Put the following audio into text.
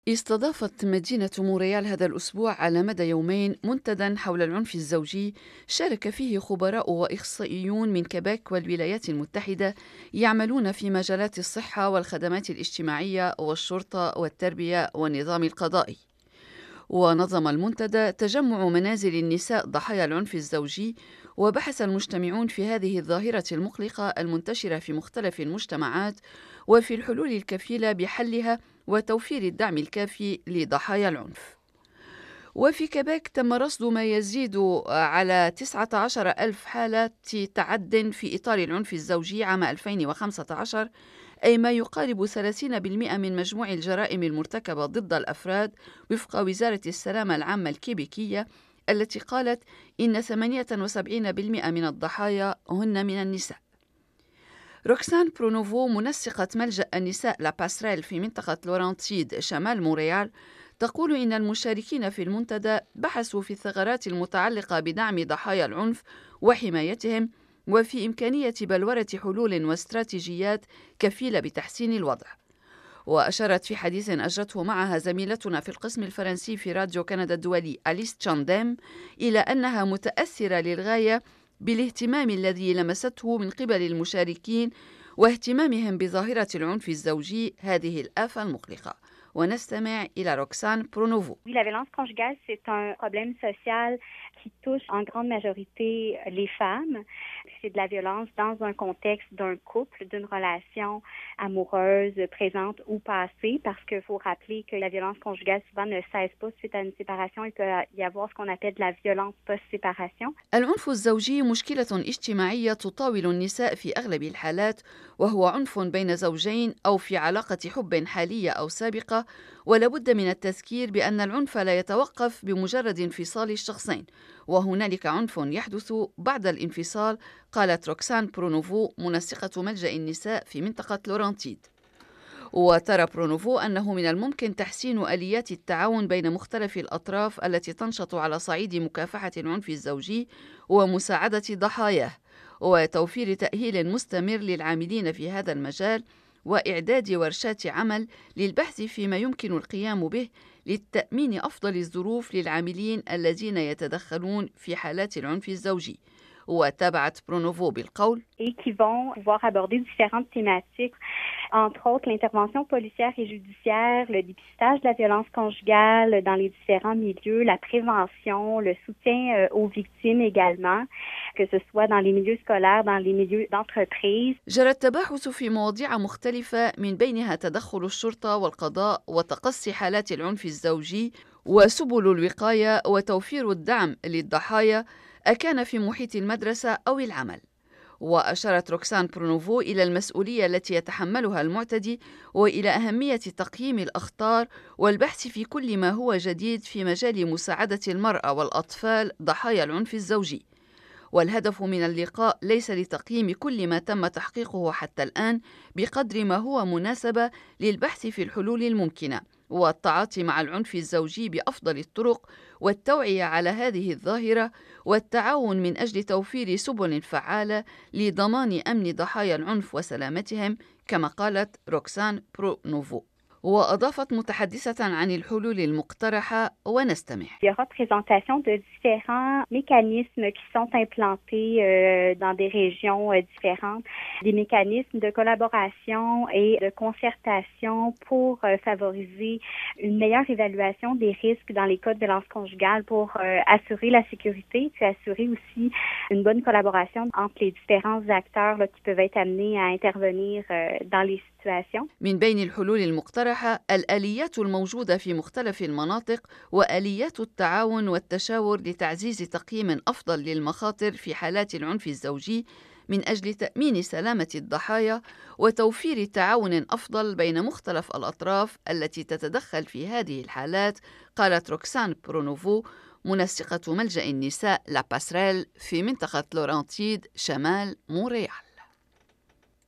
استضافت مدينة مونريال هذا الأسبوع على مدى يومين منتدى حول العنف الزوجي شارك فيه خبراء وإخصائيون من كيبيك والولايات المتحدة يعملون في مجالات الصحة والخدمات الاجتماعية والشرطة والتربية والنظام القضائي. ونظم المنتدى تجمع منازل النساء ضحايا العنف الزوجي، وبحث المجتمعون في هذه الظاهرة المقلقة المنتشرة في مختلف المجتمعات وفي الحلول الكفيلة بحلها وتوفير الدعم الكافي لضحايا العنف. وفي كيبيك تم رصد ما يزيد على 19 ألف حالة تعد في إطار العنف الزوجي عام 2015، أي ما يقارب 30% من مجموع الجرائم المرتكبة ضد الأفراد، وفق وزارة السلامة العامة الكيبيكية، التي قالت إن 78% من الضحايا هن من النساء. روكسان برونوفو، منسقة ملجأ النساء لا باسريل في منطقة لورانتيد شمال مونريال، تقول إن المشاركين في المنتدى بحثوا في الثغرات المتعلقة بدعم ضحايا العنف وحمايتهم، وفي إمكانية بلورة حلول واستراتيجيات كفيلة بتحسين الوضع. وأشارت في حديث أجرته معها زميلتنا في القسم الفرنسي في راديو كندا الدولي أليس تشانديم إلى أنها متأثرة للغاية بالاهتمام الذي لمسته من قبل المشاركين واهتمامهم بظاهرة العنف الزوجي، هذه الآفة المقلقة. ونستمع إلى روكسان برونوفو. Oui, la violence conjugale, c'est un problème social qui touche en grande majorité les femmes. C'est de la violence dans un contexte d'un couple, d'une relation amoureuse présente ou passée, parce qu'il faut rappeler que la violence conjugale souvent ne cesse pas suite à une séparation. Il peut y avoir ce qu'on appelle de la violence post-séparation. العنف الزوجي مشكلة اجتماعية تطاول النساء في أغلب الحالات، وهو عنف بين زوجين أو في علاقة حب حالية أو سابقة، ولا بد من التذكير بأن العنف لا يتوقف بمجرد انفصال الشخصين، وهنالك عنف يحدث بعد الانفصال، قالت روكسان برونوفو، منسقة ملجأ النساء في منطقة لورانتيد. وترى برونوفو أنه من الممكن تحسين آليات التعاون بين مختلف الأطراف التي تنشط على صعيد مكافحة العنف الزوجي ومساعدة ضحاياه، وتوفير تأهيل مستمر للعاملين في هذا المجال، وإعداد ورشات عمل للبحث فيما يمكن القيام به لتأمين أفضل الظروف للعاملين الذين يتدخلون في حالات العنف الزوجي. وتابعت برونوفو بالقول: Et qui vont pouvoir aborder différentes thématiques, entre autres l'intervention policière et judiciaire, le dépistage de la violence conjugale dans les différents milieux, la prévention, le soutien aux victimes également, que ce soit dans les milieux scolaires, dans les milieux d'entreprise. جرى التباحث في مواضيع مختلفة من بينها تدخل الشرطة والقضاء وتقصي حالات العنف الزوجي وسبل الوقاية وتوفير الدعم للضحايا، أكان في محيط المدرسة أو العمل. وأشارت روكسان برونوفو إلى المسؤولية التي يتحملها المعتدي، وإلى أهمية تقييم الأخطار والبحث في كل ما هو جديد في مجال مساعدة المرأة والأطفال ضحايا العنف الزوجي. والهدف من اللقاء ليس لتقييم كل ما تم تحقيقه حتى الآن، بقدر ما هو مناسبة للبحث في الحلول الممكنة والتعاطي مع العنف الزوجي بأفضل الطرق، والتوعية على هذه الظاهرة، والتعاون من أجل توفير سبل فعالة لضمان أمن ضحايا العنف وسلامتهم، كما قالت روكسان برونوفو. وأضافت متحدثة عن الحلول المقترحة، ونستمع. Il y aura présentation de différents mécanismes qui sont implantés dans des régions différentes, des mécanismes de collaboration et de concertation pour favoriser une meilleure évaluation des risques dans les cas de violence conjugale, pour assurer la sécurité, puis assurer aussi une bonne collaboration entre les différents acteurs là, qui peuvent être amenés à intervenir dans les situations. من بين الحلول المقترحة الآليات الموجودة في مختلف المناطق، وآليات التعاون والتشاور لتعزيز تقييم أفضل للمخاطر في حالات العنف الزوجي من أجل تأمين سلامة الضحايا، وتوفير تعاون أفضل بين مختلف الأطراف التي تتدخل في هذه الحالات، قالت روكسان برونوفو، منسقة ملجأ النساء لا باسريل في منطقة لورانتيد شمال مونريال.